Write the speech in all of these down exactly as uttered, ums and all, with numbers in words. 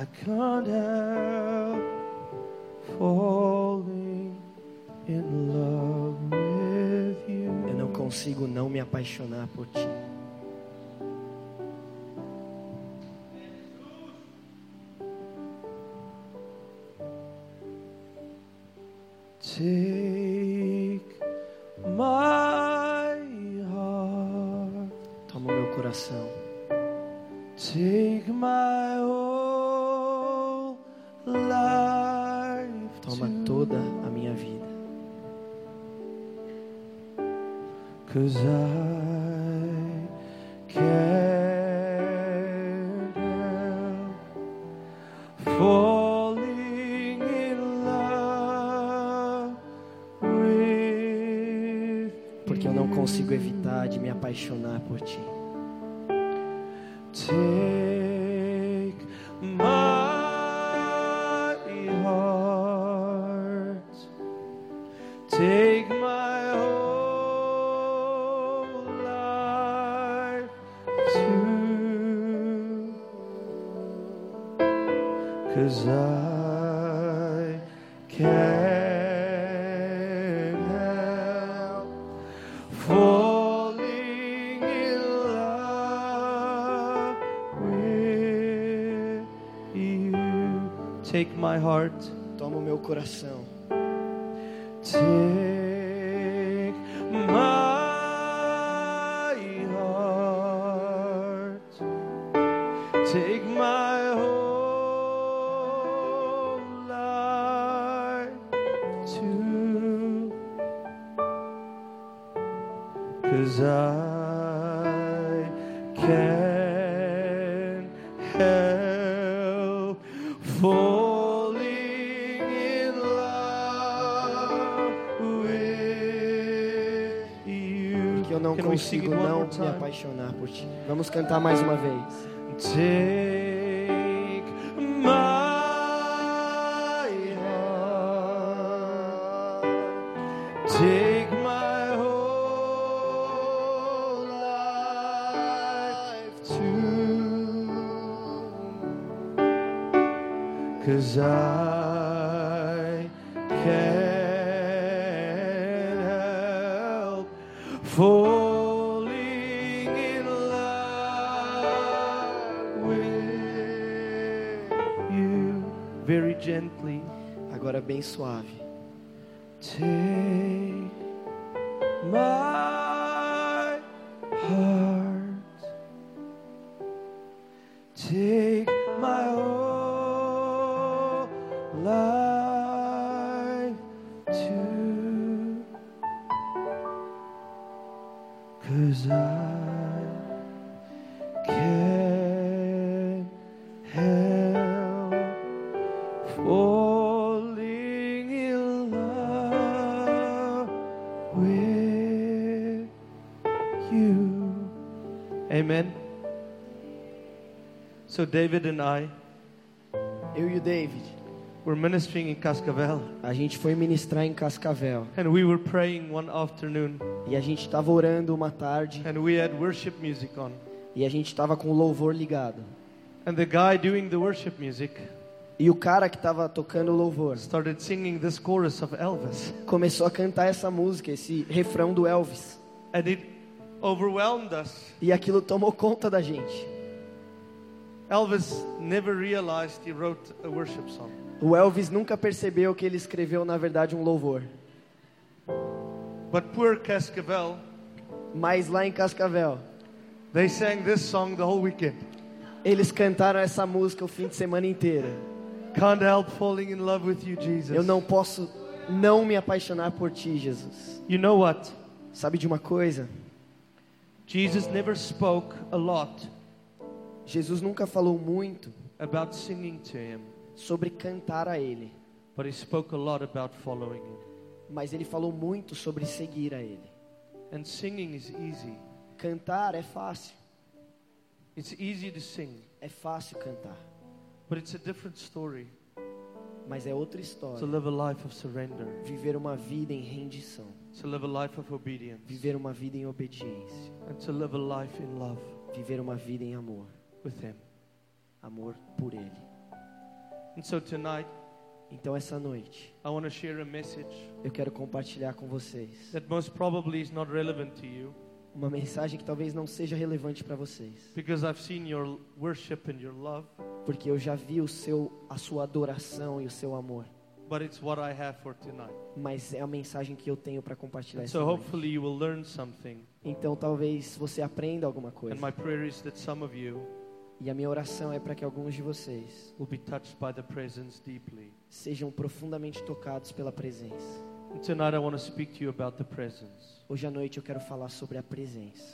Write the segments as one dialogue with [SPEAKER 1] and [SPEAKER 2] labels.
[SPEAKER 1] I can't help falling in love with you.
[SPEAKER 2] Eu não consigo não me apaixonar por ti.
[SPEAKER 1] Take my heart.
[SPEAKER 2] Toma o meu coração.
[SPEAKER 1] Take my whole life.
[SPEAKER 2] Toma toda a minha vida.
[SPEAKER 1] 'Cause I can't help falling in love with
[SPEAKER 2] Porque eu não consigo evitar de me apaixonar por ti.
[SPEAKER 1] Take my heart. Take my whole life too. 'Cause I can't help falling in love with you. Take my heart.
[SPEAKER 2] Toma o meu coração.
[SPEAKER 1] Take my heart. Take my whole life too. 'Cause I can't help falling in love with you.
[SPEAKER 2] Que eu não
[SPEAKER 1] Can we sing
[SPEAKER 2] consigo
[SPEAKER 1] it one
[SPEAKER 2] não
[SPEAKER 1] more
[SPEAKER 2] me
[SPEAKER 1] time?
[SPEAKER 2] apaixonar por ti. Vamos cantar mais uma vez.
[SPEAKER 1] Take my heart. Take my whole life too. 'Cause I can't help falling in love with you. Very gently.
[SPEAKER 2] Agora bem suave.
[SPEAKER 1] Take my heart. Take my whole life too. 'Cause I can't help falling in love with you. Amen. So David and I
[SPEAKER 2] Eu e o David,
[SPEAKER 1] were ministering in Cascavel,
[SPEAKER 2] a gente foi ministrar em Cascavel.
[SPEAKER 1] and we were praying one afternoon,
[SPEAKER 2] E a gente estava orando uma tarde.
[SPEAKER 1] and we had worship music on.
[SPEAKER 2] E a gente estava com o louvor ligado.
[SPEAKER 1] And the guy doing the worship music
[SPEAKER 2] E o cara que estava tocando o louvor
[SPEAKER 1] started singing this chorus of Elvis,
[SPEAKER 2] começou a cantar essa música, esse refrão do Elvis.
[SPEAKER 1] and it overwhelmed us.
[SPEAKER 2] E aquilo tomou conta da gente.
[SPEAKER 1] Elvis never realized he wrote a worship song.
[SPEAKER 2] O Elvis nunca percebeu que ele escreveu, na verdade, um louvor.
[SPEAKER 1] But poor Cascavel,
[SPEAKER 2] Mas lá em Cascavel,
[SPEAKER 1] they sang this song the whole weekend.
[SPEAKER 2] eles cantaram essa música o fim de semana inteiro.
[SPEAKER 1] Can't help falling in love with you, Jesus.
[SPEAKER 2] Eu não posso não me apaixonar por ti, Jesus.
[SPEAKER 1] You know what?
[SPEAKER 2] Sabe de uma coisa?
[SPEAKER 1] Jesus never spoke a lot
[SPEAKER 2] Jesus nunca falou muito
[SPEAKER 1] about singing to him,
[SPEAKER 2] sobre cantar a Ele.
[SPEAKER 1] but he spoke a lot about following him.
[SPEAKER 2] Mas Ele falou muito sobre seguir a Ele.
[SPEAKER 1] And singing is easy.
[SPEAKER 2] Cantar é fácil.
[SPEAKER 1] It's easy to sing,
[SPEAKER 2] É fácil cantar.
[SPEAKER 1] but it's a different story
[SPEAKER 2] Mas é outra
[SPEAKER 1] to
[SPEAKER 2] história.
[SPEAKER 1] live a life of surrender,
[SPEAKER 2] Viver uma vida em rendição.
[SPEAKER 1] to live a life of obedience,
[SPEAKER 2] Viver uma vida em obediência.
[SPEAKER 1] and to live a life in love
[SPEAKER 2] Viver uma vida em amor.
[SPEAKER 1] with him.
[SPEAKER 2] Amor por Ele.
[SPEAKER 1] And so tonight,
[SPEAKER 2] Então essa noite,
[SPEAKER 1] I want to share a message
[SPEAKER 2] eu quero compartilhar com vocês
[SPEAKER 1] that most probably is not relevant to you,
[SPEAKER 2] uma mensagem que talvez não seja relevante para vocês,
[SPEAKER 1] because I've seen your worship and your love,
[SPEAKER 2] porque eu já vi o seu, a sua adoração e o seu amor,
[SPEAKER 1] but it's what I have for tonight.
[SPEAKER 2] mas é a mensagem que eu tenho para compartilhar
[SPEAKER 1] And
[SPEAKER 2] essa
[SPEAKER 1] so
[SPEAKER 2] noite.
[SPEAKER 1] hopefully you will learn something.
[SPEAKER 2] Então talvez você aprenda alguma coisa.
[SPEAKER 1] And my prayer is that some of you
[SPEAKER 2] E a minha oração é para que alguns de vocês
[SPEAKER 1] will be touched by the presence deeply.
[SPEAKER 2] sejam profundamente tocados pela presença.
[SPEAKER 1] And tonight I want to speak to you about the presence.
[SPEAKER 2] Hoje à noite eu quero falar sobre a presença.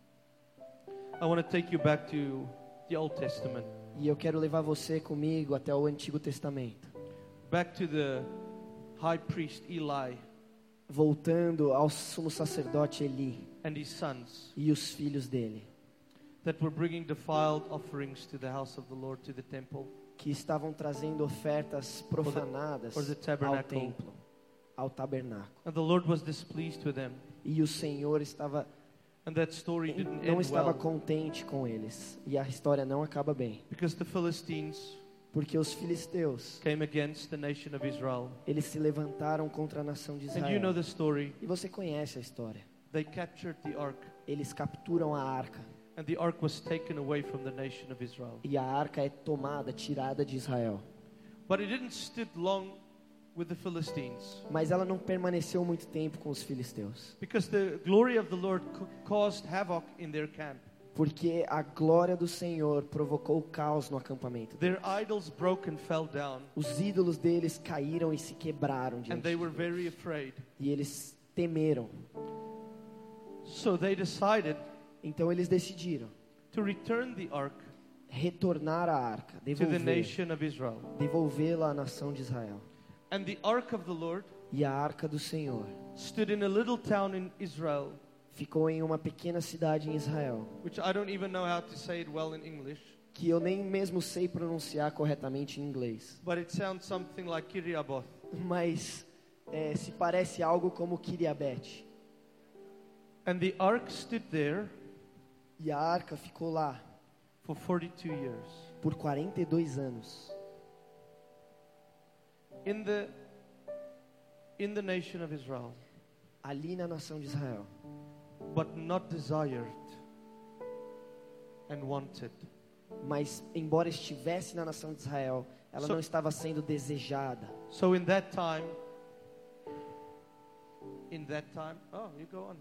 [SPEAKER 1] I want to take you back to the Old Testament,
[SPEAKER 2] E eu quero levar você comigo até o Antigo Testamento,
[SPEAKER 1] back to the high priest Eli
[SPEAKER 2] voltando ao sumo sacerdote Eli
[SPEAKER 1] and his sons
[SPEAKER 2] e os filhos dele,
[SPEAKER 1] that were bringing defiled offerings to the house of the Lord, to the temple,
[SPEAKER 2] que estavam trazendo ofertas profanadas
[SPEAKER 1] or the
[SPEAKER 2] ao
[SPEAKER 1] tabernacle.
[SPEAKER 2] templo, ao tabernáculo.
[SPEAKER 1] And the Lord was displeased with them.
[SPEAKER 2] E o Senhor estava
[SPEAKER 1] And that story didn't
[SPEAKER 2] não
[SPEAKER 1] end
[SPEAKER 2] estava
[SPEAKER 1] well,
[SPEAKER 2] contente com eles. E a história não acaba bem,
[SPEAKER 1] because the Philistines
[SPEAKER 2] porque os filisteus,
[SPEAKER 1] came against the nation of Israel.
[SPEAKER 2] eles se levantaram contra a nação de
[SPEAKER 1] And you know
[SPEAKER 2] Israel.
[SPEAKER 1] the story.
[SPEAKER 2] E você conhece a história.
[SPEAKER 1] They captured the ark,
[SPEAKER 2] Eles capturam a arca,
[SPEAKER 1] and the ark was taken away from the nation of Israel.
[SPEAKER 2] e a arca é tomada, tirada de Israel.
[SPEAKER 1] But it didn't stood long with the Philistines,
[SPEAKER 2] Mas ela não permaneceu muito tempo com os filisteus,
[SPEAKER 1] because the glory of the Lord ca- caused havoc in their camp.
[SPEAKER 2] porque a glória do Senhor provocou caos no acampamento.
[SPEAKER 1] Their idols broke and fell down,
[SPEAKER 2] Os ídolos deles caíram e se quebraram
[SPEAKER 1] and
[SPEAKER 2] diante
[SPEAKER 1] they
[SPEAKER 2] de
[SPEAKER 1] were
[SPEAKER 2] Deus.
[SPEAKER 1] very afraid.
[SPEAKER 2] E eles temeram.
[SPEAKER 1] So they decided
[SPEAKER 2] Então eles decidiram
[SPEAKER 1] to return the ark
[SPEAKER 2] retornar a arca,
[SPEAKER 1] to the
[SPEAKER 2] devolver,
[SPEAKER 1] nation of Israel.
[SPEAKER 2] devolvê-la à nação de Israel.
[SPEAKER 1] And the ark of the Lord
[SPEAKER 2] E a arca do Senhor
[SPEAKER 1] stood in a little town in Israel,
[SPEAKER 2] ficou em uma pequena cidade em Israel,
[SPEAKER 1] which I don't even know how to say it well in English,
[SPEAKER 2] que eu nem mesmo sei pronunciar corretamente em inglês,
[SPEAKER 1] but it sounds something like Kiriaboth.
[SPEAKER 2] mas é, se parece algo como Kiriabete.
[SPEAKER 1] And the ark stood there
[SPEAKER 2] E a arca ficou lá
[SPEAKER 1] for forty-two years.
[SPEAKER 2] por quarenta e dois anos,
[SPEAKER 1] In the in the nation of Israel,
[SPEAKER 2] ali na nação de Israel,
[SPEAKER 1] but not desired and wanted.
[SPEAKER 2] mas embora estivesse na nação de Israel, ela
[SPEAKER 1] So-
[SPEAKER 2] não estava sendo desejada.
[SPEAKER 1] So in that time, in that time, oh, you go on.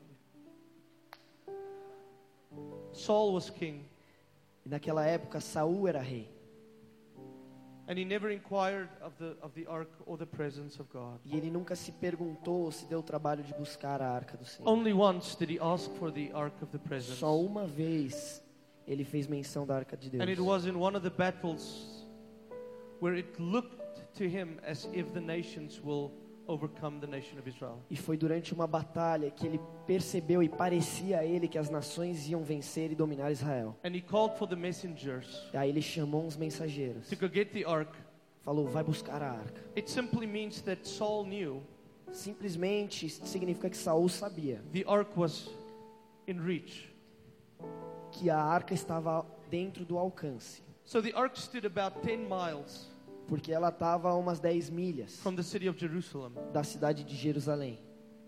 [SPEAKER 1] Saul was king,
[SPEAKER 2] E naquela época Saul era rei,
[SPEAKER 1] and he never inquired of the of the ark or the presence of God.
[SPEAKER 2] e ele nunca se perguntou ou se deu o trabalho de buscar a arca do Senhor.
[SPEAKER 1] Only once did he ask for the ark of the presence.
[SPEAKER 2] Só uma vez ele fez menção da arca de Deus.
[SPEAKER 1] And it was in one of the battles where it looked to him as if the nations will overcome the nation of Israel.
[SPEAKER 2] E foi durante uma batalha que ele percebeu e parecia a ele que as nações iam vencer e dominar Israel.
[SPEAKER 1] And he called for the messengers
[SPEAKER 2] Aí ele chamou uns mensageiros,
[SPEAKER 1] to go get the ark.
[SPEAKER 2] falou, vai buscar a arca.
[SPEAKER 1] It simply means that Saul knew
[SPEAKER 2] Simplesmente significa que Saul sabia
[SPEAKER 1] the ark was in reach.
[SPEAKER 2] que a arca estava dentro do alcance,
[SPEAKER 1] So the ark stood about ten miles
[SPEAKER 2] porque ela estava a umas dez milhas
[SPEAKER 1] from the city of Jerusalem.
[SPEAKER 2] da cidade de Jerusalém.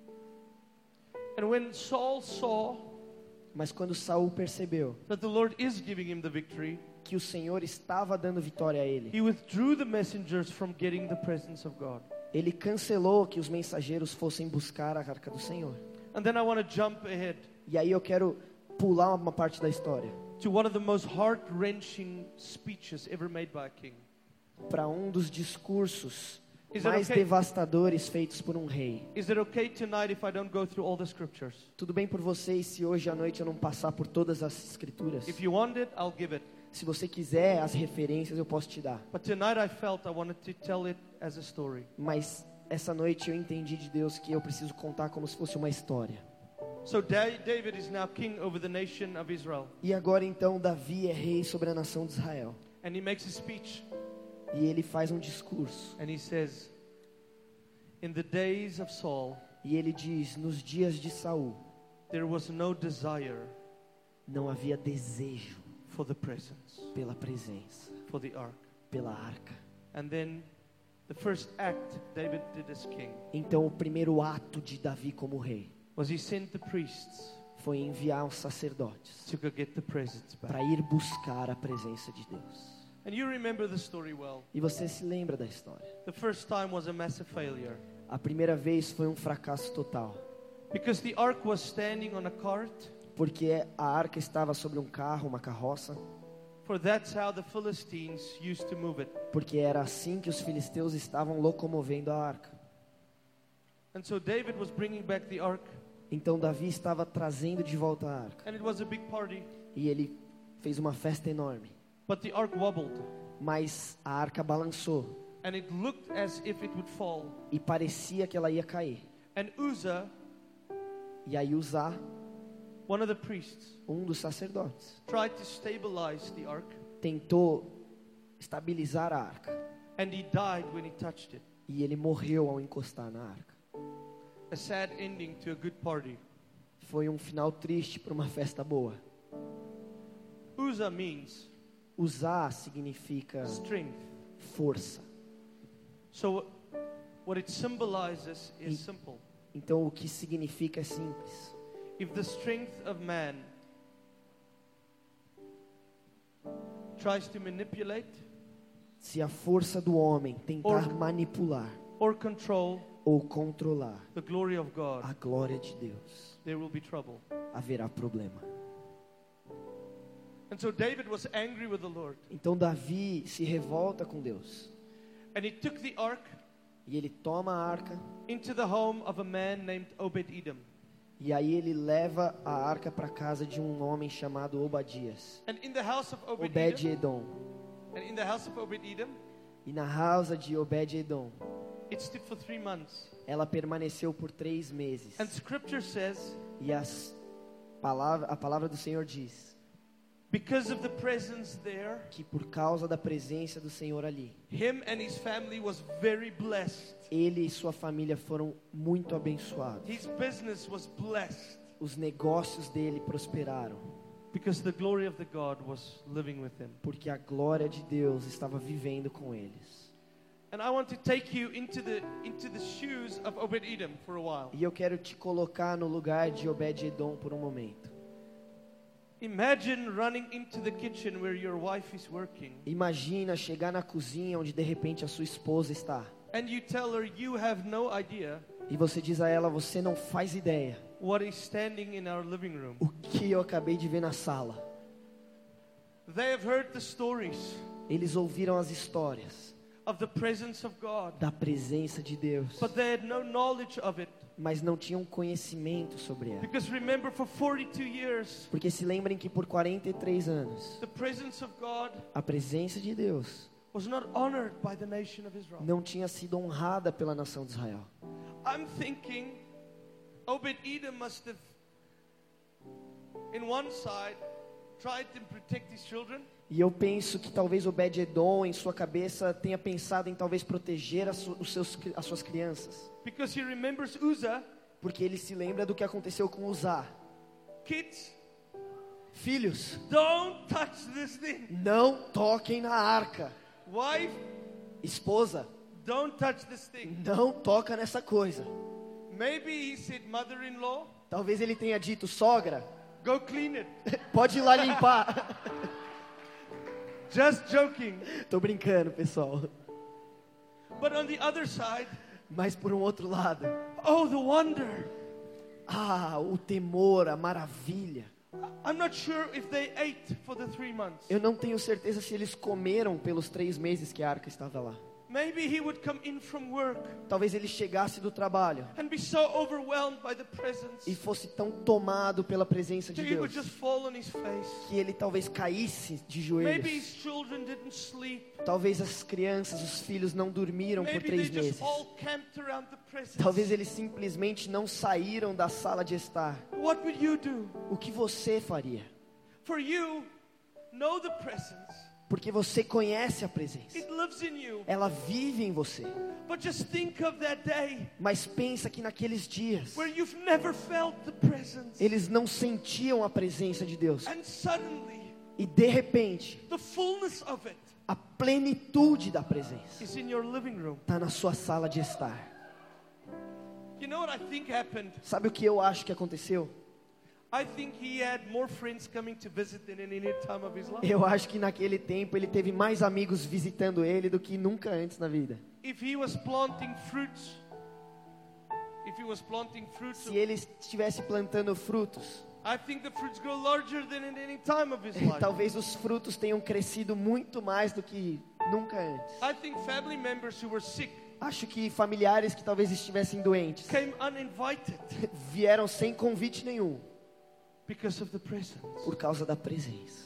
[SPEAKER 1] And when Saul saw
[SPEAKER 2] Mas quando Saul percebeu
[SPEAKER 1] that the Lord is giving him the victory,
[SPEAKER 2] que o Senhor estava dando vitória a ele,
[SPEAKER 1] he withdrew the messengers from getting the presence of God.
[SPEAKER 2] ele cancelou que os mensageiros fossem buscar a arca do Senhor.
[SPEAKER 1] And then I want to jump ahead
[SPEAKER 2] E aí eu quero pular uma parte da história
[SPEAKER 1] to one of the most heart-wrenching speeches ever made by a king.
[SPEAKER 2] para um dos discursos
[SPEAKER 1] Is it
[SPEAKER 2] mais
[SPEAKER 1] okay?
[SPEAKER 2] devastadores feitos por um rei.
[SPEAKER 1] Is it okay tonight if I don't go through all the scriptures?
[SPEAKER 2] Tudo bem por vocês se hoje à noite eu não passar por todas as escrituras?
[SPEAKER 1] If you want it, I'll give it.
[SPEAKER 2] Se você quiser as referências eu posso te dar.
[SPEAKER 1] But tonight I felt I wanted to tell it as a story.
[SPEAKER 2] Mas essa noite eu entendi de Deus que eu preciso contar como se fosse uma história.
[SPEAKER 1] So Da- David is now king over the nation of Israel.
[SPEAKER 2] E agora então Davi é rei sobre a nação de Israel.
[SPEAKER 1] And he makes a speech.
[SPEAKER 2] E ele faz um discurso.
[SPEAKER 1] And he says, in the days of Saul,
[SPEAKER 2] E ele diz, nos dias de Saul,
[SPEAKER 1] there was no desire
[SPEAKER 2] não havia desejo
[SPEAKER 1] for the presence,
[SPEAKER 2] pela presença,
[SPEAKER 1] for the ark.
[SPEAKER 2] pela arca.
[SPEAKER 1] And then the first act David did as king
[SPEAKER 2] Então o primeiro ato de Davi como rei
[SPEAKER 1] was he sent the priests
[SPEAKER 2] foi enviar os sacerdotes
[SPEAKER 1] to go get the presents back.
[SPEAKER 2] para ir buscar a presença de Deus.
[SPEAKER 1] And you remember the story well.
[SPEAKER 2] E você se lembra da história.
[SPEAKER 1] The first time was a massive failure
[SPEAKER 2] A primeira vez foi um fracasso total,
[SPEAKER 1] because the ark was standing on a cart,
[SPEAKER 2] porque a arca estava sobre um carro, uma carroça,
[SPEAKER 1] for that's how the Philistines used to move it.
[SPEAKER 2] porque era assim que os filisteus estavam locomovendo a arca.
[SPEAKER 1] And so David was bringing back the ark,
[SPEAKER 2] Então Davi estava trazendo de volta a arca.
[SPEAKER 1] and it was a big party,
[SPEAKER 2] E ele fez uma festa enorme.
[SPEAKER 1] but the ark wobbled,
[SPEAKER 2] Mas a arca balançou
[SPEAKER 1] and it looked as if it would fall.
[SPEAKER 2] e parecia que ela ia cair.
[SPEAKER 1] And Uzzah,
[SPEAKER 2] E aí Uzá,
[SPEAKER 1] one of the priests,
[SPEAKER 2] um dos sacerdotes,
[SPEAKER 1] tried to stabilize the ark,
[SPEAKER 2] tentou estabilizar a arca.
[SPEAKER 1] and he died when he touched it.
[SPEAKER 2] E ele morreu ao encostar na arca.
[SPEAKER 1] A sad ending to a good party.
[SPEAKER 2] Foi um final triste para uma festa boa.
[SPEAKER 1] Uzzah means
[SPEAKER 2] Uzá significa
[SPEAKER 1] strength.
[SPEAKER 2] força.
[SPEAKER 1] So what it symbolizes is
[SPEAKER 2] E-
[SPEAKER 1] simple.
[SPEAKER 2] Então o que significa é simples.
[SPEAKER 1] If the strength of man tries to manipulate
[SPEAKER 2] Se a força do homem tentar
[SPEAKER 1] Or-
[SPEAKER 2] manipular
[SPEAKER 1] or control
[SPEAKER 2] ou controlar
[SPEAKER 1] the glory of God,
[SPEAKER 2] a glória de Deus,
[SPEAKER 1] there will be trouble.
[SPEAKER 2] haverá problema.
[SPEAKER 1] And so David was angry with the Lord,
[SPEAKER 2] Então Davi se revolta com Deus.
[SPEAKER 1] and he took the ark
[SPEAKER 2] E ele toma a arca.
[SPEAKER 1] into the home of a man named Obed-Edom.
[SPEAKER 2] E aí ele leva a arca para casa de um homem chamado Obadias.
[SPEAKER 1] And in the house of Obed-Edom,
[SPEAKER 2] Obed-Edom.
[SPEAKER 1] and in the house of Obed-Edom,
[SPEAKER 2] E na casa de Obed-Edom,
[SPEAKER 1] it stood for three months.
[SPEAKER 2] ela permaneceu por três meses.
[SPEAKER 1] And Scripture says,
[SPEAKER 2] E as palavra, a palavra do Senhor diz
[SPEAKER 1] because of the presence there,
[SPEAKER 2] que por causa da presença do Senhor ali,
[SPEAKER 1] him and his family was very blessed.
[SPEAKER 2] ele e sua família foram muito abençoados.
[SPEAKER 1] His business was blessed
[SPEAKER 2] Os negócios dele prosperaram,
[SPEAKER 1] because the glory of the God was living with him.
[SPEAKER 2] porque a glória de Deus estava vivendo com eles.
[SPEAKER 1] And I want to take you into the into the shoes of Obed-Edom for a while.
[SPEAKER 2] E eu quero te colocar no lugar de Obed-Edom por um momento.
[SPEAKER 1] Imagine running into the kitchen where your wife is working,
[SPEAKER 2] Imagina chegar na cozinha onde de repente a sua esposa está.
[SPEAKER 1] and you tell her you have no idea
[SPEAKER 2] E você diz a ela, você não faz ideia
[SPEAKER 1] what is standing in our living room.
[SPEAKER 2] o que eu acabei de ver na sala.
[SPEAKER 1] They have heard the stories
[SPEAKER 2] Eles ouviram as histórias
[SPEAKER 1] of the presence of God,
[SPEAKER 2] da presença de Deus,
[SPEAKER 1] but they had no knowledge of it.
[SPEAKER 2] mas não tinham conhecimento sobre ela.
[SPEAKER 1] Because remember, for forty-two years,
[SPEAKER 2] Porque se lembrem que por quarenta e três anos,
[SPEAKER 1] the presence of God
[SPEAKER 2] a presença de Deus
[SPEAKER 1] was not honored by the nation of Israel.
[SPEAKER 2] não tinha sido honrada pela nação de Israel.
[SPEAKER 1] I'm thinking Obed-Edom must have, in one side, tried to protect his children,
[SPEAKER 2] E eu penso que talvez Obed-Edom, em sua cabeça, tenha pensado em talvez proteger as, su- os seus, as suas crianças.
[SPEAKER 1] because he remembers Uzzah.
[SPEAKER 2] Porque ele se lembra do que aconteceu com Uzá.
[SPEAKER 1] Kids,
[SPEAKER 2] Filhos,
[SPEAKER 1] don't touch this thing.
[SPEAKER 2] não toquem na arca.
[SPEAKER 1] Wife,
[SPEAKER 2] Esposa,
[SPEAKER 1] don't touch this thing.
[SPEAKER 2] não toca nessa coisa.
[SPEAKER 1] Maybe he said, mother-in-law,
[SPEAKER 2] Talvez ele tenha dito, sogra,
[SPEAKER 1] go clean it.
[SPEAKER 2] pode ir lá limpar.
[SPEAKER 1] Just joking.
[SPEAKER 2] Tô brincando, pessoal.
[SPEAKER 1] But on the other side,
[SPEAKER 2] Mas por um outro lado,
[SPEAKER 1] oh, the wonder.
[SPEAKER 2] ah, o temor, a maravilha.
[SPEAKER 1] I'm not sure if they ate for the three months.
[SPEAKER 2] Eu não tenho certeza se eles comeram pelos três meses que a arca estava lá.
[SPEAKER 1] Maybe he would come in from work
[SPEAKER 2] Talvez ele chegasse do trabalho
[SPEAKER 1] and be so overwhelmed by the presence
[SPEAKER 2] e fosse tão tomado pela presença de
[SPEAKER 1] that he would
[SPEAKER 2] Deus
[SPEAKER 1] just fall on his face.
[SPEAKER 2] que ele talvez caísse de
[SPEAKER 1] Maybe
[SPEAKER 2] joelhos.
[SPEAKER 1] his children didn't sleep.
[SPEAKER 2] Talvez as crianças, os filhos não dormiram por
[SPEAKER 1] Maybe they
[SPEAKER 2] três
[SPEAKER 1] just
[SPEAKER 2] meses.
[SPEAKER 1] all camped around the presence.
[SPEAKER 2] Talvez eles simplesmente não saíram da sala de estar.
[SPEAKER 1] What would you do?
[SPEAKER 2] O que você faria?
[SPEAKER 1] For you, know the presence.
[SPEAKER 2] Porque você conhece a presença.
[SPEAKER 1] It lives in you.
[SPEAKER 2] Ela vive em você.
[SPEAKER 1] But just think of that day
[SPEAKER 2] Mas pensa que naqueles dias
[SPEAKER 1] where you've never felt the presence.
[SPEAKER 2] eles não sentiam a presença de Deus.
[SPEAKER 1] And suddenly,
[SPEAKER 2] E de repente,
[SPEAKER 1] the fullness of it
[SPEAKER 2] a plenitude da presença
[SPEAKER 1] is in your living room.
[SPEAKER 2] está na sua sala de estar.
[SPEAKER 1] You know what I think happened?
[SPEAKER 2] Sabe o que eu acho que aconteceu?
[SPEAKER 1] I think he had more friends coming to visit than in any time of his life.
[SPEAKER 2] Eu acho que naquele tempo ele teve mais amigos visitando ele do que nunca antes na vida.
[SPEAKER 1] If he was planting fruits, if he was planting fruits,
[SPEAKER 2] Se ele estivesse plantando frutos,
[SPEAKER 1] I think the fruits grow larger than in any time of his life.
[SPEAKER 2] talvez os frutos tenham crescido muito mais do que nunca antes.
[SPEAKER 1] I think family members who were sick
[SPEAKER 2] Acho que familiares que talvez estivessem doentes
[SPEAKER 1] came uninvited
[SPEAKER 2] vieram sem convite nenhum
[SPEAKER 1] because of the presence.
[SPEAKER 2] por causa da presença.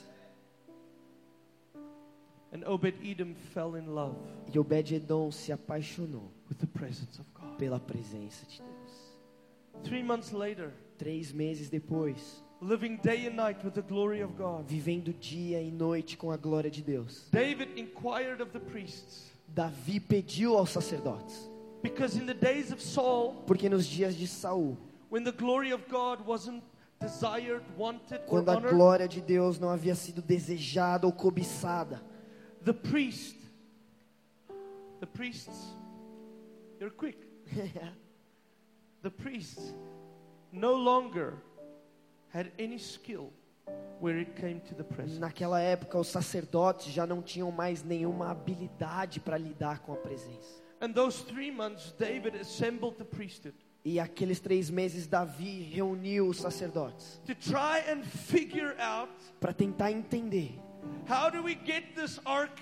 [SPEAKER 1] And Obed-Edom fell in love
[SPEAKER 2] E Obed-Edom se apaixonou
[SPEAKER 1] with the presence of God.
[SPEAKER 2] pela presença de Deus.
[SPEAKER 1] Three months later,
[SPEAKER 2] Três meses depois,
[SPEAKER 1] living day and night with the glory of God,
[SPEAKER 2] vivendo dia e noite com a glória de Deus,
[SPEAKER 1] David inquired of the priests,
[SPEAKER 2] Davi pediu aos sacerdotes,
[SPEAKER 1] because in the days of Saul,
[SPEAKER 2] porque nos dias de Saul,
[SPEAKER 1] when the glory of God wasn't desired, wanted, or
[SPEAKER 2] quando a
[SPEAKER 1] honored,
[SPEAKER 2] glória de Deus não havia sido desejada ou cobiçada,
[SPEAKER 1] the priest, the priests, you're quick. The priests no longer had any skill where it came to the presence.
[SPEAKER 2] naquela época os sacerdotes já não tinham mais nenhuma habilidade para lidar com a presença.
[SPEAKER 1] And those three months, David assembled the priesthood
[SPEAKER 2] E aqueles três meses Davi reuniu os sacerdotes
[SPEAKER 1] to try and figure out
[SPEAKER 2] para tentar entender
[SPEAKER 1] how do we get this ark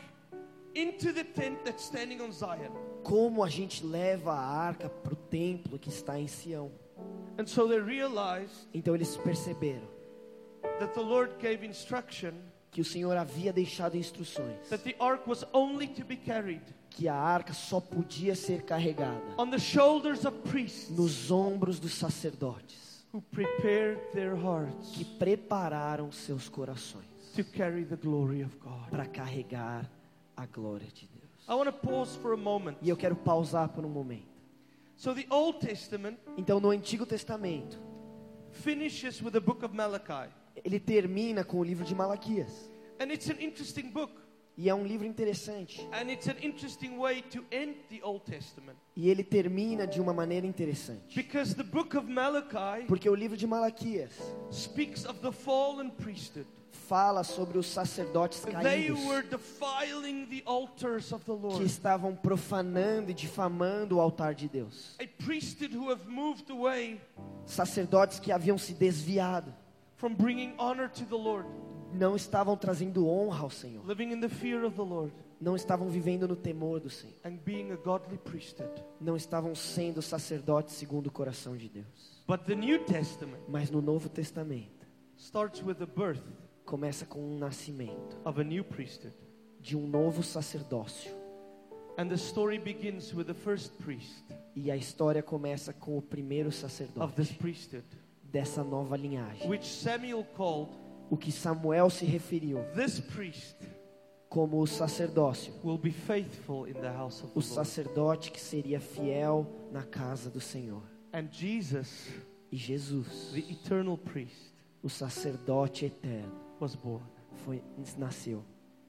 [SPEAKER 1] into the tent that's standing on Zion.
[SPEAKER 2] como a gente leva a arca para o templo que está em Sião.
[SPEAKER 1] And so they realized
[SPEAKER 2] Então eles perceberam
[SPEAKER 1] that the Lord gave instruction
[SPEAKER 2] que o Senhor havia deixado instruções,
[SPEAKER 1] that the ark was only to be carried
[SPEAKER 2] que a arca só podia ser carregada
[SPEAKER 1] on the shoulders of priests
[SPEAKER 2] nos ombros dos sacerdotes,
[SPEAKER 1] who prepared their hearts
[SPEAKER 2] que prepararam seus corações
[SPEAKER 1] to carry the glory of God.
[SPEAKER 2] para carregar a glória de Deus.
[SPEAKER 1] I want to pause for a moment.
[SPEAKER 2] E eu quero pausar por um momento.
[SPEAKER 1] So the Old Testament
[SPEAKER 2] Então no Antigo Testamento,
[SPEAKER 1] finishes with the book of Malachi.
[SPEAKER 2] ele termina com o livro de Malaquias.
[SPEAKER 1] And it's an interesting book.
[SPEAKER 2] E é um livro interessante.
[SPEAKER 1] And it's an interesting way to end the Old Testament.
[SPEAKER 2] E ele termina de uma maneira interessante.
[SPEAKER 1] Because the book of Malachi
[SPEAKER 2] Porque o livro de Malaquias
[SPEAKER 1] speaks of the fallen priesthood.
[SPEAKER 2] fala sobre os sacerdotes
[SPEAKER 1] They
[SPEAKER 2] caídos
[SPEAKER 1] were defiling the altars of the
[SPEAKER 2] que
[SPEAKER 1] Lord.
[SPEAKER 2] estavam profanando e difamando o altar de Deus.
[SPEAKER 1] A priesthood who have moved away
[SPEAKER 2] Sacerdotes que haviam se desviado,
[SPEAKER 1] from bringing honor to the Lord,
[SPEAKER 2] não estavam trazendo honra ao Senhor,
[SPEAKER 1] living in the fear of the Lord,
[SPEAKER 2] não estavam vivendo no temor do Senhor,
[SPEAKER 1] and being a godly priesthood.
[SPEAKER 2] não estavam sendo sacerdotes segundo o coração de Deus.
[SPEAKER 1] But the New Testament
[SPEAKER 2] Mas no Novo Testamento
[SPEAKER 1] starts with the birth
[SPEAKER 2] começa com um nascimento
[SPEAKER 1] of a new priesthood.
[SPEAKER 2] de um novo sacerdócio.
[SPEAKER 1] And the story begins with the first priest
[SPEAKER 2] E a história começa com o primeiro
[SPEAKER 1] of
[SPEAKER 2] sacerdote
[SPEAKER 1] this priesthood,
[SPEAKER 2] dessa nova linhagem,
[SPEAKER 1] which Samuel called
[SPEAKER 2] o que Samuel se referiu
[SPEAKER 1] this priest
[SPEAKER 2] como o sacerdócio,
[SPEAKER 1] will be faithful in the house of
[SPEAKER 2] o
[SPEAKER 1] the Lord.
[SPEAKER 2] sacerdote que seria fiel na casa do Senhor.
[SPEAKER 1] And Jesus,
[SPEAKER 2] E Jesus,
[SPEAKER 1] the eternal priest,
[SPEAKER 2] o sacerdote eterno,
[SPEAKER 1] was born.
[SPEAKER 2] foi, nasceu.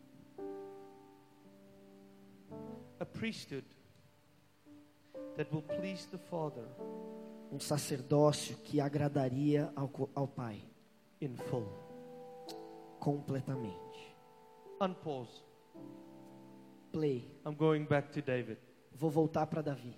[SPEAKER 1] A priesthood that will please the Father
[SPEAKER 2] Um sacerdócio que agradaria ao, co- ao Pai
[SPEAKER 1] in full.
[SPEAKER 2] completamente.
[SPEAKER 1] Unpause.
[SPEAKER 2] Play.
[SPEAKER 1] I'm going back to David.
[SPEAKER 2] Vou voltar para Davi.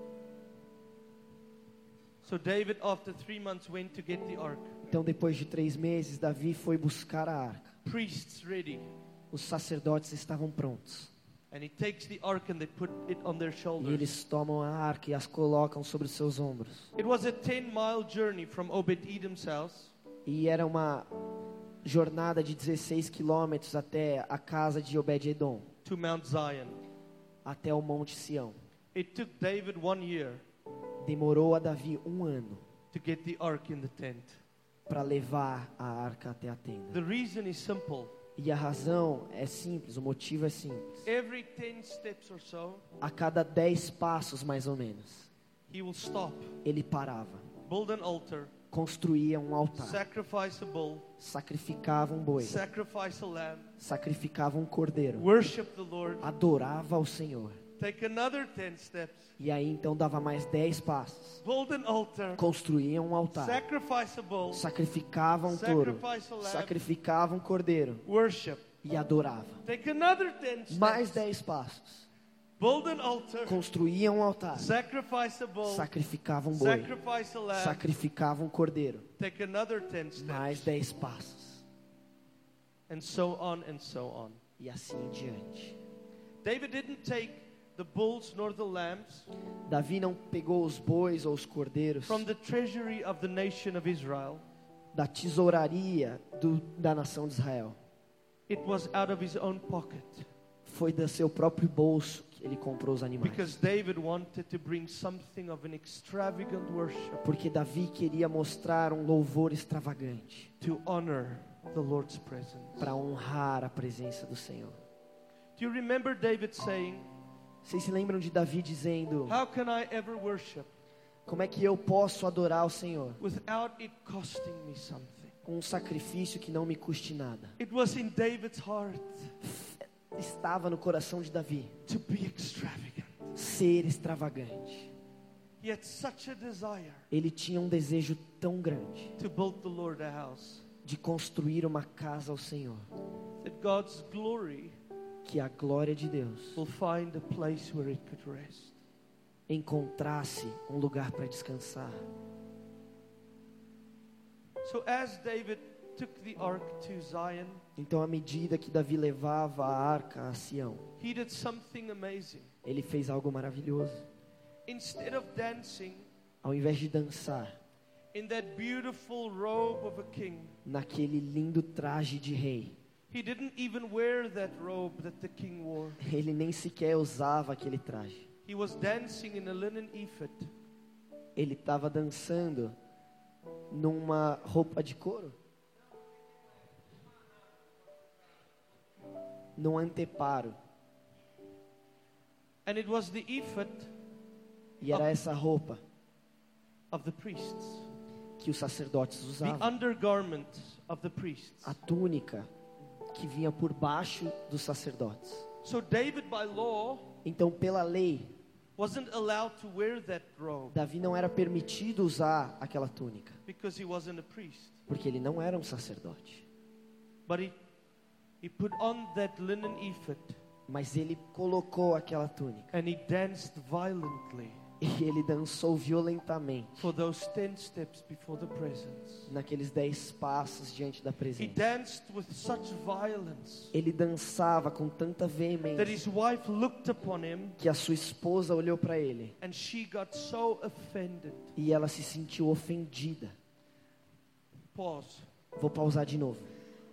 [SPEAKER 1] So David, after three months, went to get the ark.
[SPEAKER 2] Então, depois de três meses, Davi foi buscar a arca.
[SPEAKER 1] Priests ready.
[SPEAKER 2] Os sacerdotes estavam prontos.
[SPEAKER 1] And he takes the ark and they put it on their
[SPEAKER 2] E
[SPEAKER 1] shoulders.
[SPEAKER 2] eles tomam a arca e as colocam sobre os seus ombros.
[SPEAKER 1] It was a ten mile journey from Obed-Edom's house
[SPEAKER 2] E era uma jornada de dezesseis quilômetros até a casa de Obed-Edom,
[SPEAKER 1] to Mount Zion.
[SPEAKER 2] até o Monte Sião.
[SPEAKER 1] It took David one year
[SPEAKER 2] Demorou a Davi um ano
[SPEAKER 1] to get the ark in the tent.
[SPEAKER 2] para levar a arca até a tenda.
[SPEAKER 1] The reason is simple.
[SPEAKER 2] E a razão é simples, o motivo é simples.
[SPEAKER 1] Every ten steps or so,
[SPEAKER 2] A cada dez passos, mais ou menos,
[SPEAKER 1] he will stop,
[SPEAKER 2] ele parava,
[SPEAKER 1] build an altar,
[SPEAKER 2] construía um altar,
[SPEAKER 1] sacrifice a bull,
[SPEAKER 2] sacrificava um boi,
[SPEAKER 1] sacrifice a lamb,
[SPEAKER 2] sacrificava um cordeiro,
[SPEAKER 1] worship the Lord,
[SPEAKER 2] adorava ao Senhor.
[SPEAKER 1] take another ten steps,
[SPEAKER 2] E aí então dava mais dez passos,
[SPEAKER 1] build an altar,
[SPEAKER 2] construía um altar,
[SPEAKER 1] sacrifice a bull,
[SPEAKER 2] sacrificava um touro,
[SPEAKER 1] sacrifice a lamb,
[SPEAKER 2] sacrificava um cordeiro
[SPEAKER 1] worship,
[SPEAKER 2] e adorava.
[SPEAKER 1] take another ten
[SPEAKER 2] Mais
[SPEAKER 1] steps,
[SPEAKER 2] dez passos,
[SPEAKER 1] build an altar,
[SPEAKER 2] construía um altar,
[SPEAKER 1] sacrifice a bull,
[SPEAKER 2] sacrificava um boi,
[SPEAKER 1] sacrifice a lamb,
[SPEAKER 2] sacrificava um cordeiro.
[SPEAKER 1] take another ten
[SPEAKER 2] Mais
[SPEAKER 1] steps,
[SPEAKER 2] dez passos,
[SPEAKER 1] and so on and so on.
[SPEAKER 2] e assim em diante.
[SPEAKER 1] David didn't take the bulls nor the lambs
[SPEAKER 2] Davi não pegou os bois ou os cordeiros
[SPEAKER 1] from the treasury of the nation of Israel.
[SPEAKER 2] da tesouraria do, da nação de Israel.
[SPEAKER 1] It was out of his own pocket,
[SPEAKER 2] Foi do seu próprio bolso que ele comprou os animais.
[SPEAKER 1] because David wanted to bring something of an extravagant worship
[SPEAKER 2] Porque Davi queria mostrar um louvor extravagante
[SPEAKER 1] to honor the Lord's presence.
[SPEAKER 2] para honrar a presença do Senhor.
[SPEAKER 1] Do you remember David saying,
[SPEAKER 2] Vocês se lembram de Davi dizendo:
[SPEAKER 1] how can I ever worship
[SPEAKER 2] como é que eu posso adorar o Senhor
[SPEAKER 1] without it costing me something?
[SPEAKER 2] com um sacrifício que não me custe nada?
[SPEAKER 1] It was in David's heart
[SPEAKER 2] Estava no coração de Davi
[SPEAKER 1] to be extravagant.
[SPEAKER 2] ser extravagante.
[SPEAKER 1] He had such a desire
[SPEAKER 2] Ele tinha um desejo tão grande
[SPEAKER 1] to build the Lord a house
[SPEAKER 2] de construir uma casa ao Senhor,
[SPEAKER 1] that God's glory
[SPEAKER 2] que a glória de Deus
[SPEAKER 1] will find a place where it could rest.
[SPEAKER 2] encontrasse um lugar para descansar.
[SPEAKER 1] So as David took the ark to Zion,
[SPEAKER 2] Então, à medida que Davi levava a arca a Sião,
[SPEAKER 1] he did something amazing.
[SPEAKER 2] ele fez algo maravilhoso.
[SPEAKER 1] Instead of dancing
[SPEAKER 2] Ao invés de dançar
[SPEAKER 1] in that beautiful robe of a king,
[SPEAKER 2] naquele lindo traje de rei,
[SPEAKER 1] he didn't even wear that robe that the king wore.
[SPEAKER 2] ele nem sequer usava aquele traje.
[SPEAKER 1] He was dancing in a linen ephod.
[SPEAKER 2] Ele estava dançando numa roupa de couro, num anteparo.
[SPEAKER 1] And it was the ephod
[SPEAKER 2] E era essa roupa
[SPEAKER 1] of the priests,
[SPEAKER 2] que os sacerdotes
[SPEAKER 1] the
[SPEAKER 2] usavam,
[SPEAKER 1] undergarment of the priests.
[SPEAKER 2] a túnica que vinha por baixo dos sacerdotes.
[SPEAKER 1] So David, by law,
[SPEAKER 2] Então, pela lei,
[SPEAKER 1] wasn't allowed to wear that robe
[SPEAKER 2] Davi não era permitido usar aquela túnica,
[SPEAKER 1] because he wasn't a priest.
[SPEAKER 2] porque ele não era um sacerdote.
[SPEAKER 1] But he, he put on that linen ephod
[SPEAKER 2] Mas ele colocou aquela túnica
[SPEAKER 1] and he danced violently
[SPEAKER 2] e ele dançou violentamente
[SPEAKER 1] for those ten steps before the presence.
[SPEAKER 2] naqueles dez passos diante da
[SPEAKER 1] He
[SPEAKER 2] presença.
[SPEAKER 1] danced with such violence
[SPEAKER 2] Ele dançava com tanta
[SPEAKER 1] that
[SPEAKER 2] veemência
[SPEAKER 1] his wife looked upon him
[SPEAKER 2] que a sua esposa olhou para ele
[SPEAKER 1] and she got so offended.
[SPEAKER 2] e ela se sentiu ofendida.
[SPEAKER 1] Pause.
[SPEAKER 2] Vou pausar de novo.